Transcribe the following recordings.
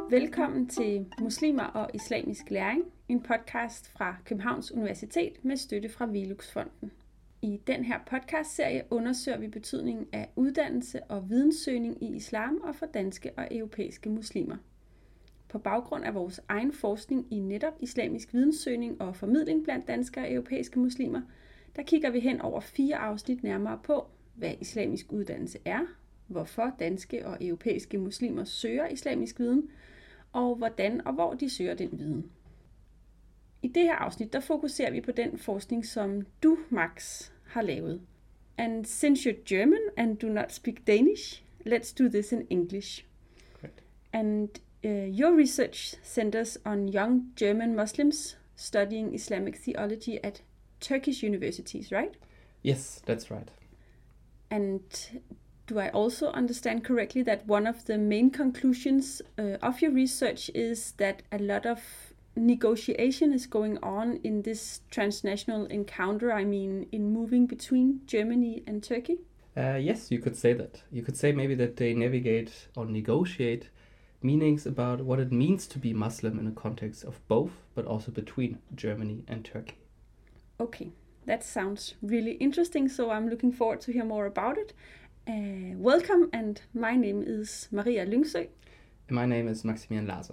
Velkommen til Muslimer og Islamisk Læring, en podcast fra Københavns Universitet med støtte fra Velux-fonden. I den her podcastserie undersøger vi betydningen af uddannelse og videnssøgning i islam og for danske og europæiske muslimer. På baggrund af vores egen forskning i netop islamisk videnssøgning og formidling blandt danske og europæiske muslimer, der kigger vi hen over 4 afsnit nærmere på, hvad islamisk uddannelse er, hvorfor danske og europæiske muslimer søger islamisk viden, og hvordan og hvor de søger den viden. I det her afsnit, der fokuserer vi på den forskning, som du, Max, har lavet. And since you're German and do not speak Danish, let's do this in English. Correct. And your research centers on young German Muslims studying Islamic theology at Turkish universities, right? Yes, that's right. And do I also understand correctly that one of the main conclusions of your research is that a lot of negotiation is going on in this transnational encounter, in moving between Germany and Turkey? Yes, you could say that. You could say maybe that they navigate or negotiate meanings about what it means to be Muslim in a context of both, but also between Germany and Turkey. Okay, that sounds really interesting, so I'm looking forward to hear more about it. Welcome, and my name is Maria Lyngsø. And my name is Maximilian Laser.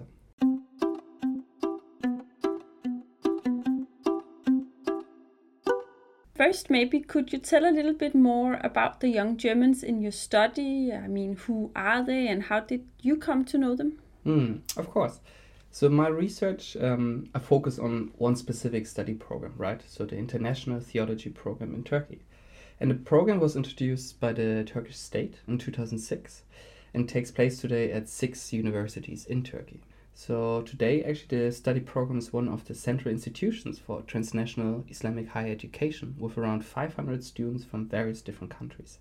First, maybe could you tell a little bit more about the young Germans in your study? Who are they and how did you come to know them? Of course. So my research, I focus on one specific study program, right? So the International Theology Program in Turkey. And the program was introduced by the Turkish state in 2006 and takes place today at 6 universities in Turkey. So today, actually, the study program is one of the central institutions for transnational Islamic higher education with around 500 students from various different countries.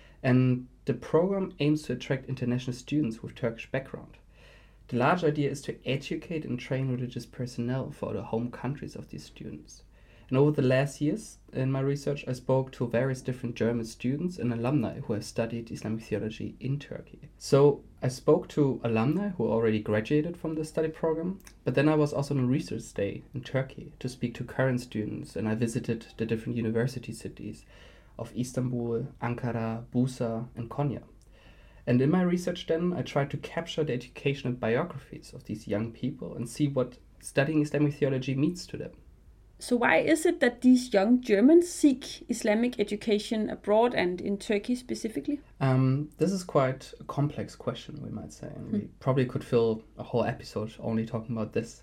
And the program aims to attract international students with Turkish background. The large idea is to educate and train religious personnel for the home countries of these students. And over the last years in my research, I spoke to various different German students and alumni who have studied Islamic theology in Turkey. So I spoke to alumni who already graduated from the study program, but then I was also on a research stay in Turkey to speak to current students, and I visited the different university cities of Istanbul, Ankara, Bursa, and Konya. And in my research then, I tried to capture the educational biographies of these young people and see what studying Islamic theology means to them. So why is it that these young Germans seek Islamic education abroad and in Turkey specifically? This is quite a complex question, we might say, and we probably could fill a whole episode only talking about this.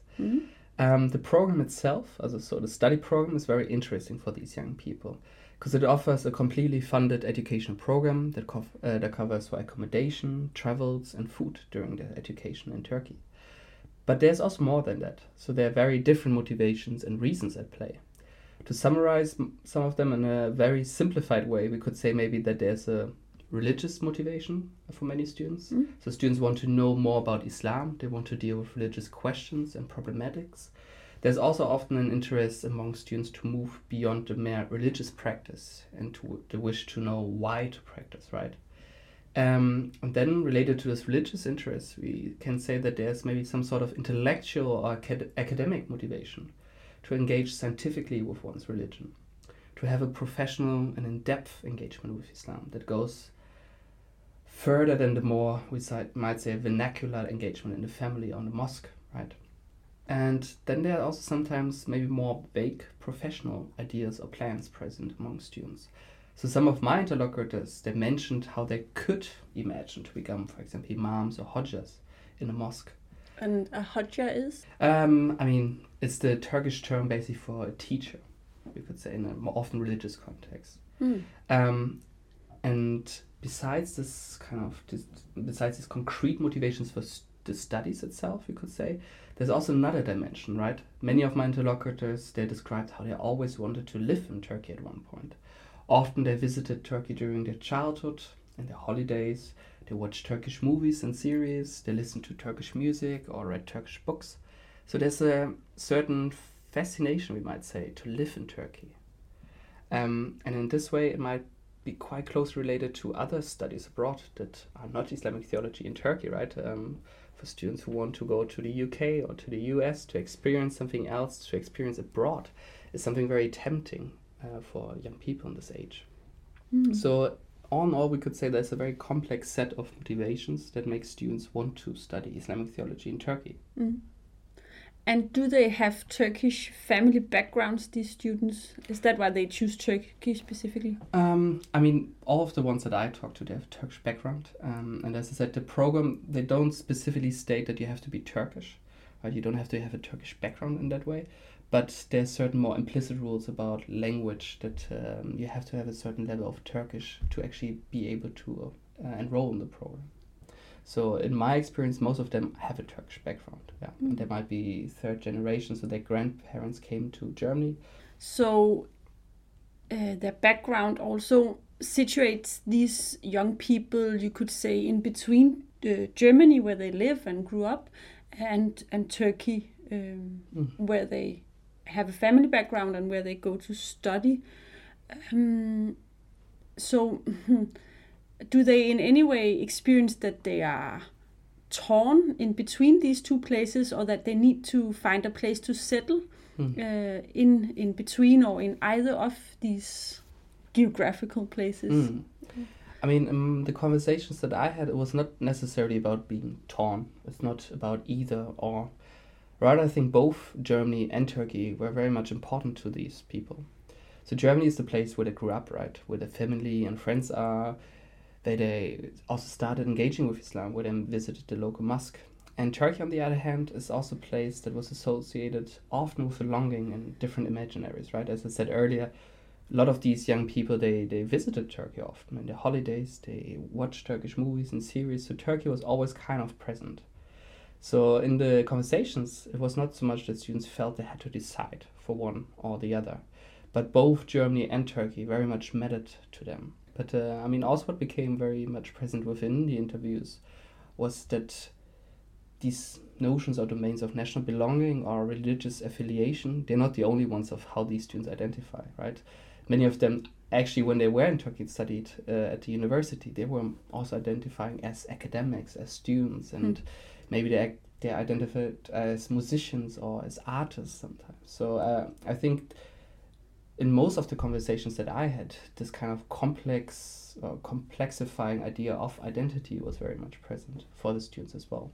The program itself, so the study program, is very interesting for these young people because it offers a completely funded educational program that covers for accommodation, travels, and food during their education in Turkey. But there's also more than that. So there are very different motivations and reasons at play. To summarize some of them in a very simplified way, we could say maybe that there's a religious motivation for many students. So students want to know more about Islam. They want to deal with religious questions and problematics. There's also often an interest among students to move beyond the mere religious practice and to the wish to know why to practice, right? And then related to this religious interest, we can say that there's maybe some sort of intellectual or academic motivation to engage scientifically with one's religion, to have a professional and in-depth engagement with Islam that goes further than the more, we might say, vernacular engagement in the family or in the mosque, right? And then there are also sometimes maybe more vague professional ideas or plans present among students. So some of my interlocutors, they mentioned how they could imagine to become, for example, imams or hodjas in a mosque. And a hodja is? It's the Turkish term basically for a teacher, we could say, in a more often religious context. And besides these concrete motivations for the studies itself, we could say, there's also another dimension, right? Many of my interlocutors, they described how they always wanted to live in Turkey at one point. Often they visited Turkey during their childhood and their holidays. They watched Turkish movies and series. They listened to Turkish music or read Turkish books. So there's a certain fascination, we might say, to live in Turkey. And in this way, it might be quite closely related to other studies abroad that are not Islamic theology in Turkey, right? for students who want to go to the UK or to the US to experience something else, to experience abroad, is something very tempting for young people in this age. So all in all, we could say there's a very complex set of motivations that make students want to study Islamic theology in Turkey. And do they have Turkish family backgrounds, these students? Is that why they choose Turkey specifically? I mean, all of the ones that I talked to, they have Turkish background. And as I said, the program, they don't specifically state that you have to be Turkish, right? You don't have to have a Turkish background in that way. But there's certain more implicit rules about language that you have to have a certain level of Turkish to actually be able to enroll in the program. So in my experience, most of them have a Turkish background. Yeah, and they might be third generation, so their grandparents came to Germany. So their background also situates these young people, you could say, in between Germany, where they live and grew up, and Turkey, where they have a family background and where they go to study. So do they in any way experience that they are torn in between these two places, or that they need to find a place to settle in between or in either of these geographical places? I mean, the conversations that I had, it was not necessarily about being torn. It's not about either or. Rather, I think both Germany and Turkey were very much important to these people. So Germany is the place where they grew up, right? Where their family and friends are. They also started engaging with Islam, where they visited the local mosque. And Turkey, on the other hand, is also a place that was associated often with a longing and different imaginaries, right? As I said earlier, a lot of these young people, they visited Turkey often in their holidays. They watched Turkish movies and series. So Turkey was always kind of present. So in the conversations, it was not so much that students felt they had to decide for one or the other, but both Germany and Turkey very much mattered to them. But I mean, also what became very much present within the interviews was that these notions or domains of national belonging or religious affiliation, they're not the only ones of how these students identify, right? Many of them, actually, when they were in Turkey, studied at the university, they were also identifying as academics, as students, and maybe they identified as musicians or as artists sometimes. So I think in most of the conversations that I had, this kind of complexifying idea of identity was very much present for the students as well.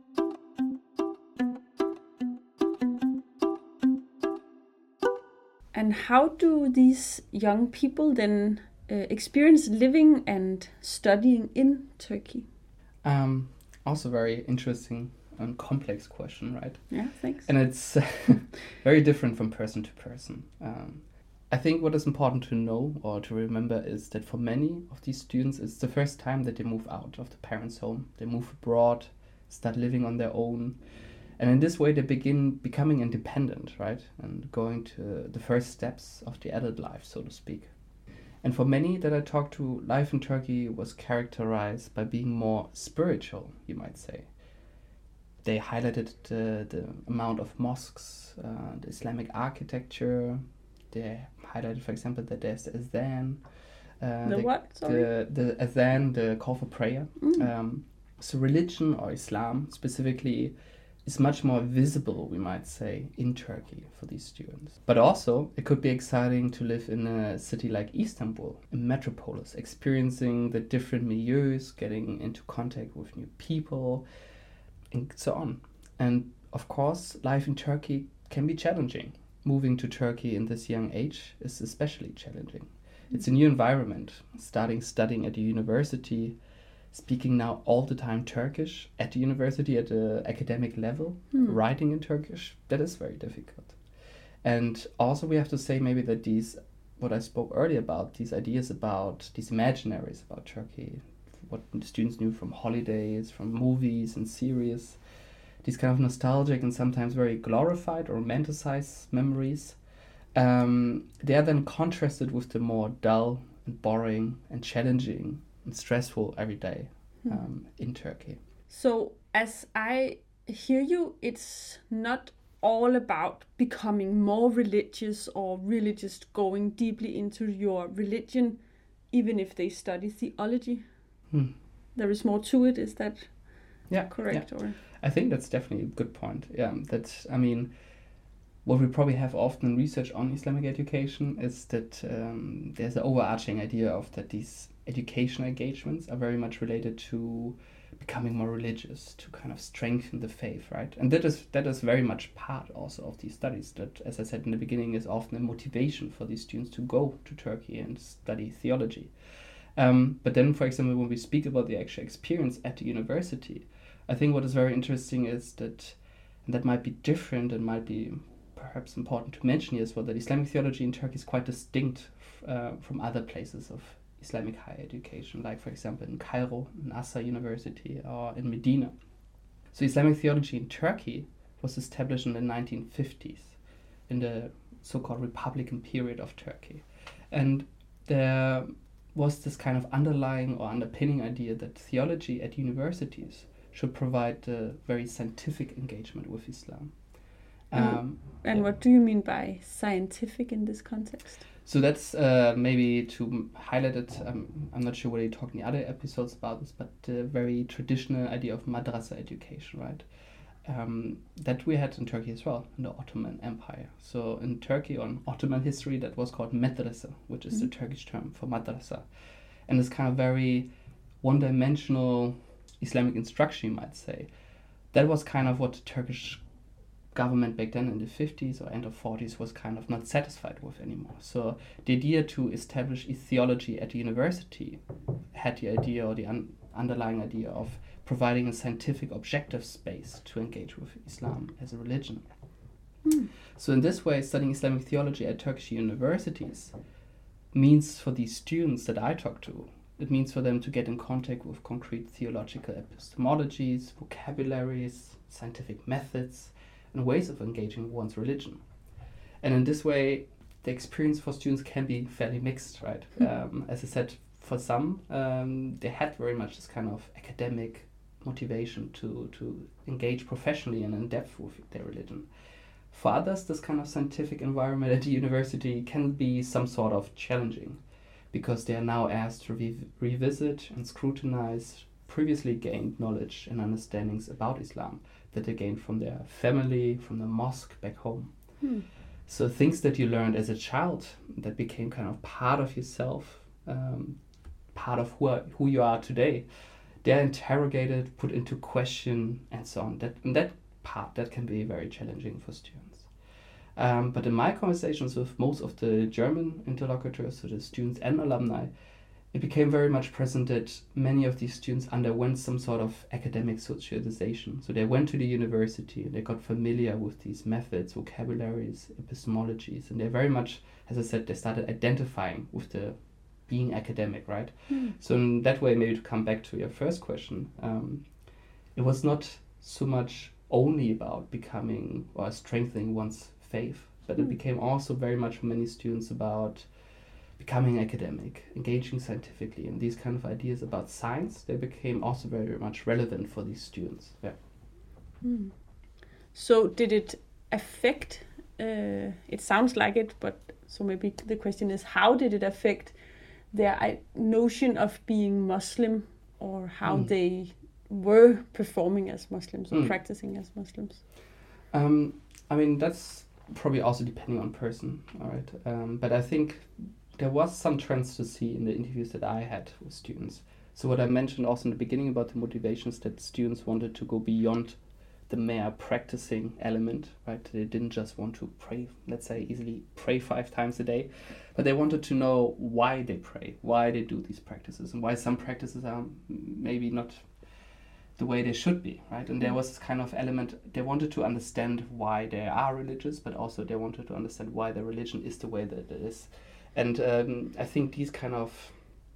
And how do these young people then experience living and studying in Turkey? Also very interesting and complex question, right? Yeah, thanks. And it's very different from person to person. I think what is important to know or to remember is that for many of these students, it's the first time that they move out of the parents' home. They move abroad, start living on their own. And in this way, they begin becoming independent, right? And going to the first steps of the adult life, so to speak. And for many that I talked to, life in Turkey was characterized by being more spiritual, you might say. They highlighted the amount of mosques, the Islamic architecture. They highlighted, for example, that there's the Adhan. The Adhan, the call for prayer. So religion, or Islam specifically, is much more visible, we might say, in Turkey for these students. But also, it could be exciting to live in a city like Istanbul, a metropolis, experiencing the different milieus, getting into contact with new people, and so on. And of course, life in Turkey can be challenging. Moving to Turkey in this young age is especially challenging. It's a new environment, studying at the university, speaking now all the time Turkish at the university at the academic level, writing in Turkish, that is very difficult. And also we have to say maybe that these, what I spoke earlier about, these ideas about, these imaginaries about Turkey, what students knew from holidays, from movies and series, these kind of nostalgic and sometimes very glorified or romanticized memories, they are then contrasted with the more dull and boring and challenging and stressful every day in Turkey. So as I hear you, it's not all about becoming more religious or really just going deeply into your religion, even if they study theology. There is more to it, is that correct? Yeah. Or I think that's definitely a good point. Yeah, what we probably have often in research on Islamic education is that there's an overarching idea of that these educational engagements are very much related to becoming more religious, to kind of strengthen the faith, right? And that is very much part also of these studies. That, as I said in the beginning, is often a motivation for these students to go to Turkey and study theology. But then, for example, when we speak about the actual experience at the university, I think what is very interesting is that, and that might be different and might be perhaps important to mention here as well, that Islamic theology in Turkey is quite distinct from other places of Islamic higher education, like for example in Cairo, in Azhar University, or in Medina. So Islamic theology in Turkey was established in the 1950s, in the so-called Republican period of Turkey. And there was this kind of underlying or underpinning idea that theology at universities should provide a very scientific engagement with Islam. And what do you mean by scientific in this context? So that's maybe to highlight it. I'm not sure whether you talk in the other episodes about this, but the very traditional idea of madrasa education, right? That we had in Turkey as well, in the Ottoman Empire. So in Turkey, on Ottoman history, that was called medrese, which is the Turkish term for madrasa. And it's kind of very one-dimensional Islamic instruction, you might say. That was kind of what the Turkish government back then in the 50s or end of 40s was kind of not satisfied with anymore. So the idea to establish a theology at the university had the idea or the underlying idea of providing a scientific objective space to engage with Islam as a religion. So in this way, studying Islamic theology at Turkish universities means for these students that I talk to, it means for them to get in contact with concrete theological epistemologies, vocabularies, scientific methods, and ways of engaging with one's religion. And in this way, the experience for students can be fairly mixed, right? As I said, for some, they had very much this kind of academic motivation to engage professionally and in depth with their religion. For others, this kind of scientific environment at the university can be some sort of challenging, because they are now asked to revisit and scrutinize previously gained knowledge and understandings about Islam that they gained from their family, from the mosque back home. So things that you learned as a child that became kind of part of yourself, part of who you are today, they're interrogated, put into question, and so on. That can be very challenging for students. But in my conversations with most of the German interlocutors, so the students and alumni, it became very much present that many of these students underwent some sort of academic socialization. So they went to the university and they got familiar with these methods, vocabularies, epistemologies, and they very much, as I said, they started identifying with the being academic, right? So in that way, maybe to come back to your first question, it was not so much only about becoming or strengthening one's faith, but it became also very much for many students about becoming academic, engaging scientifically, and these kind of ideas about science, they became also very much relevant for these students. Yeah. So did it affect, it sounds like it, but so maybe the question is, how did it affect their notion of being Muslim, or how they were performing as Muslims or practicing as Muslims? I mean, that's probably also depending on person, all right? But I think there was some trends to see in the interviews that I had with students. So what I mentioned also in the beginning about the motivations, that students wanted to go beyond the mere practicing element, right? They didn't just want to pray, let's say easily pray 5 times a day, but they wanted to know why they pray, why they do these practices, and why some practices are maybe not the way they should be, right? And there was this kind of element, they wanted to understand why they are religious, but also they wanted to understand why their religion is the way that it is. And I think these kind of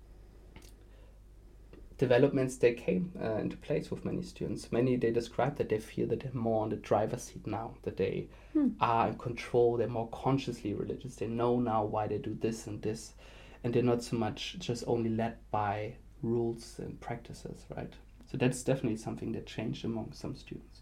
developments, they came into place with many students. Many, they describe that they feel that they're more on the driver's seat now, that they are in control, they're more consciously religious. They know now why they do this and this, and they're not so much just only led by rules and practices, right? So that's definitely something that changed among some students.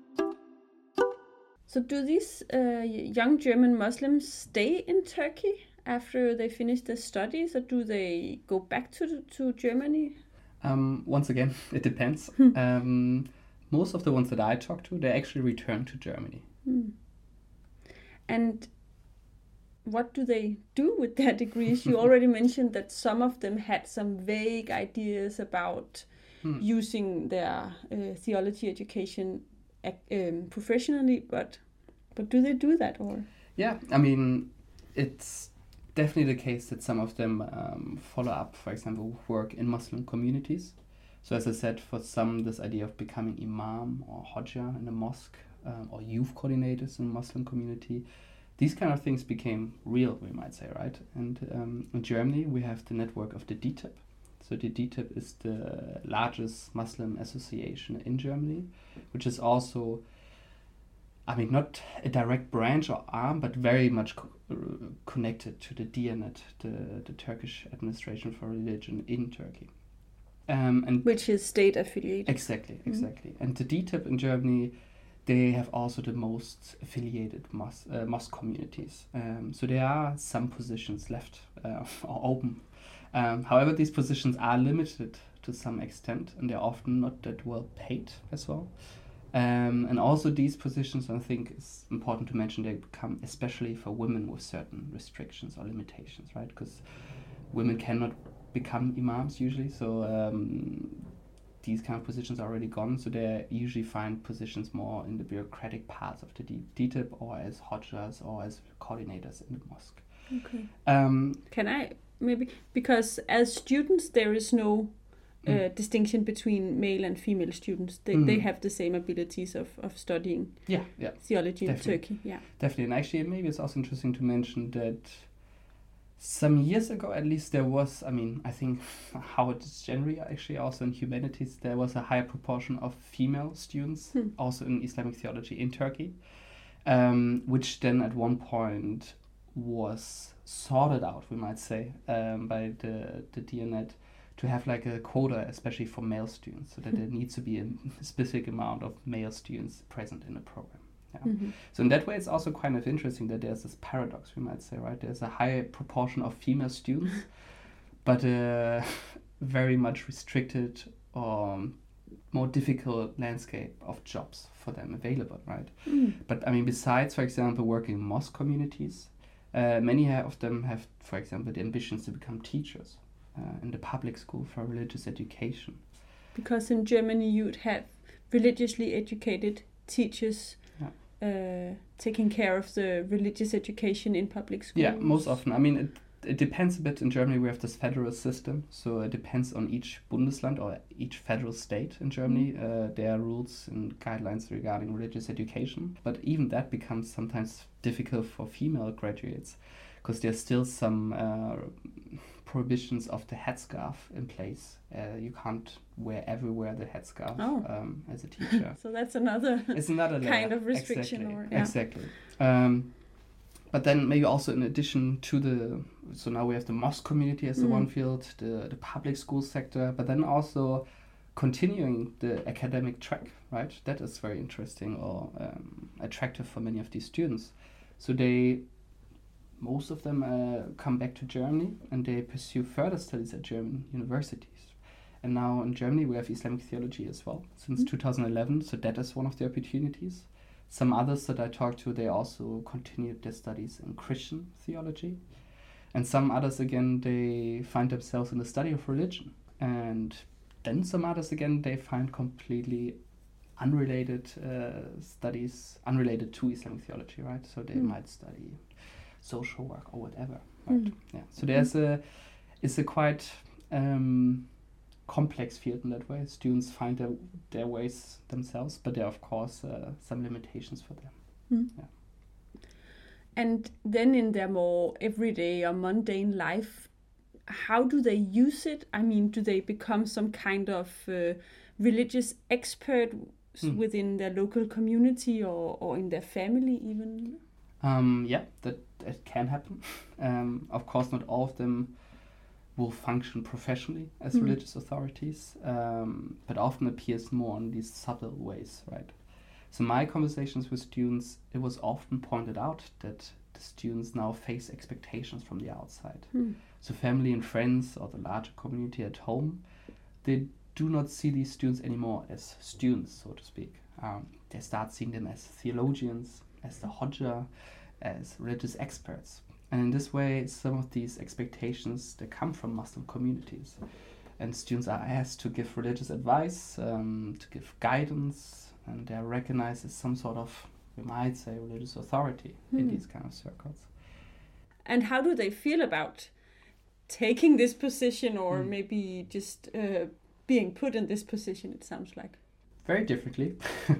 So do these young German Muslims stay in Turkey after they finish their studies, or do they go back to Germany? Once again, it depends. Most of the ones that I talk to, they actually return to Germany. And what do they do with their degrees? You already mentioned that some of them had some vague ideas about using their theology education professionally, but do they do that? Or yeah, I mean, it's definitely the case that some of them follow up, for example, work in Muslim communities. So as I said, for some, this idea of becoming imam or hodja in a mosque or youth coordinators in a Muslim community, these kind of things became real, we might say, right? And in Germany, we have the network of the DITIB. So the DITIB is the largest Muslim association in Germany, which is also, I mean, not a direct branch or arm, but very much connected to the Diyanet, the Turkish Administration for Religion in Turkey. And which is state affiliated. Exactly. And the DITIB in Germany, they have also the most affiliated mosque communities. So there are some positions left or open. However, these positions are limited to some extent, and they're often not that well paid as well. And also these positions, I think it's important to mention, they become especially for women with certain restrictions or limitations, right? Because women cannot become imams usually, so these kind of positions are already gone, so they usually find positions more in the bureaucratic parts of the DITIB or as hodjas or as coordinators in the mosque. Okay. Can I maybe, because as students there is no distinction between male and female students. They have the same abilities of studying theology in Turkey. Yeah, definitely. And actually, maybe it's also interesting to mention that some years ago, at least, there was, I mean, I think how it is generally actually also in humanities, there was a higher proportion of female students also in Islamic theology in Turkey, which then at one point was sorted out, we might say, by the Diyanet, to have like a quota, especially for male students, so that there needs to be a specific amount of male students present in the program. Yeah. Mm-hmm. So in that way, it's also kind of interesting that there's this paradox, we might say, right? There's a higher proportion of female students, but a very much restricted or more difficult landscape of jobs for them available, right? But I mean, besides, for example, working in mosque communities, many of them have, for example, the ambitions to become teachers in the public school for religious education. Because in Germany you'd have religiously educated teachers taking care of the religious education in public schools. Yeah, most often. I mean, it depends a bit. In Germany we have this federal system, so it depends on each Bundesland or each federal state in Germany. There are rules and guidelines regarding religious education, but even that becomes sometimes difficult for female graduates because there's still some prohibitions of the headscarf in place. You can't wear everywhere the headscarf as a teacher. So that's another kind of restriction. Exactly. But then maybe also in addition to so now we have the mosque community as the one field, the public school sector, but then also continuing the academic track, right? That is very interesting or attractive for many of these students. So most of them come back to Germany and they pursue further studies at German universities. And now in Germany we have Islamic theology as well since 2011, so that is one of the opportunities. Some others that I talked to, they also continued their studies in Christian theology. And some others, again, they find themselves in the study of religion. And then some others, again, they find completely unrelated studies, unrelated to Islamic theology, right? So they might study social work or whatever, right? Yeah. So it's a quite complex field in that way. Students find their ways themselves, but there are of course some limitations for them. Yeah. And then in their more everyday or mundane life, how do they use it? I mean, do they become some kind of religious expert within their local community or in their family even? Yeah, that can happen. Of course, not all of them will function professionally as religious authorities, but often appears more in these subtle ways, right? So my conversations with students, it was often pointed out that the students now face expectations from the outside. So family and friends or the larger community at home, they do not see these students anymore as students, so to speak. They start seeing them as theologians, as the Hodja, as religious experts. And in this way, some of these expectations, they come from Muslim communities. And students are asked to give religious advice, to give guidance, and they're recognized as some sort of, we might say, religious authority in these kind of circles. And how do they feel about taking this position, or maybe just being put in this position, it sounds like? Very differently.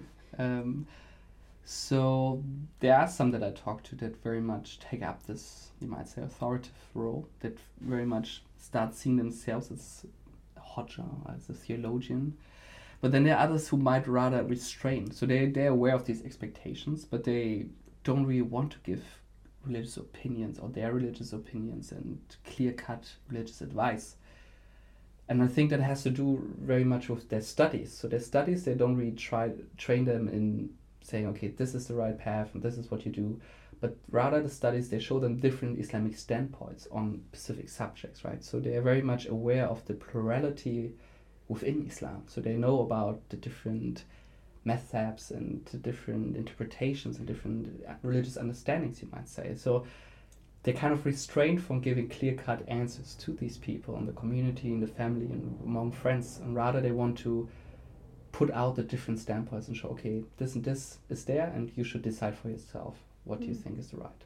So there are some that I talk to that very much take up this, you might say, authoritative role, that very much start seeing themselves as a Hodja, as a theologian. But then there are others who might rather restrain. So they're aware of these expectations, but they don't really want to give religious opinions or their religious opinions and clear-cut religious advice. And I think that has to do very much with their studies. So their studies, they don't really train them in saying, okay, this is the right path and this is what you do. But rather the studies, they show them different Islamic standpoints on specific subjects, right? So they are very much aware of the plurality within Islam. So they know about the different methods and the different interpretations and different religious understandings, you might say. So they're kind of restrained from giving clear-cut answers to these people in the community, in the family, and among friends. And rather they want to put out the different standpoints and show, okay, this and this is there, and you should decide for yourself what you think is the right.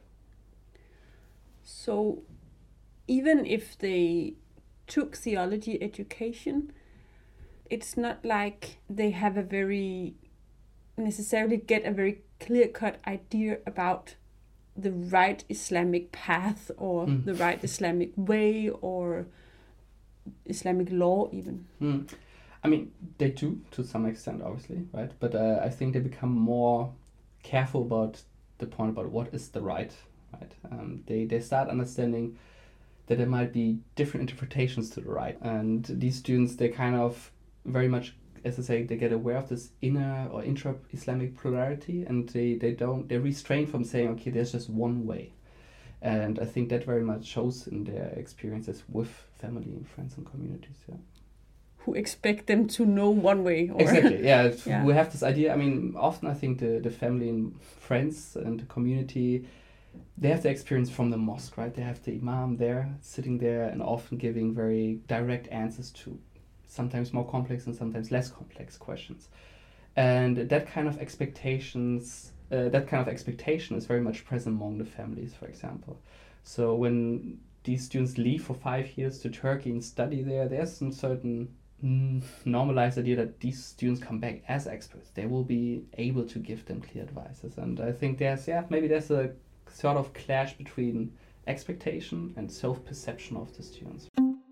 So even if they took theology education, it's not like they have necessarily get a very clear-cut idea about the right Islamic path or the right Islamic way or Islamic law even. I mean, they do to some extent, obviously, right? But I think they become more careful about the point about what is the right? They start understanding that there might be different interpretations to the right. And these students, they kind of very much, as I say, they get aware of this inner or intra-Islamic plurality, and they restrain from saying, okay, there's just one way. And I think that very much shows in their experiences with family and friends and communities, who expect them to know one way. Or exactly, yeah. We have this idea, I mean, often I think the family and friends and the community, they have the experience from the mosque, right? They have the imam there, sitting there and often giving very direct answers to sometimes more complex and sometimes less complex questions. And that kind of expectation is very much present among the families, for example. So when these students leave for 5 years to Turkey and study there, there's some certain normalized idea that these students come back as experts. They will be able to give them clear advices. And I think there's a sort of clash between expectation and self-perception of the students.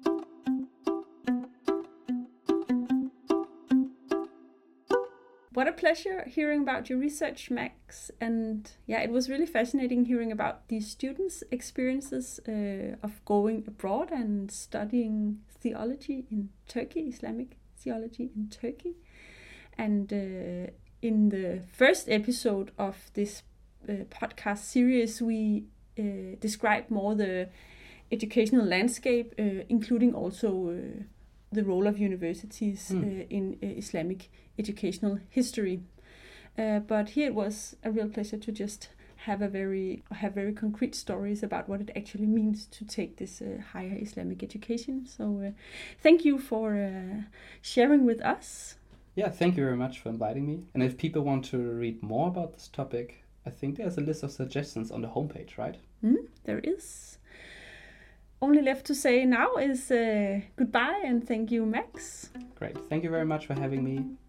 What a pleasure hearing about your research, Max. And it was really fascinating hearing about these students' experiences of going abroad and studying theology in Turkey, Islamic theology in Turkey. And in the first episode of this podcast series, we described more the educational landscape, including also the role of universities in Islamic educational history. But here it was a real pleasure to just have very concrete stories about what it actually means to take this higher Islamic education. So thank you for sharing with us. Yeah, thank you very much for inviting me. And if people want to read more about this topic, I think there's a list of suggestions on the homepage, right? There is. Only left to say now is goodbye and thank you, Max. Great. Thank you very much for having me.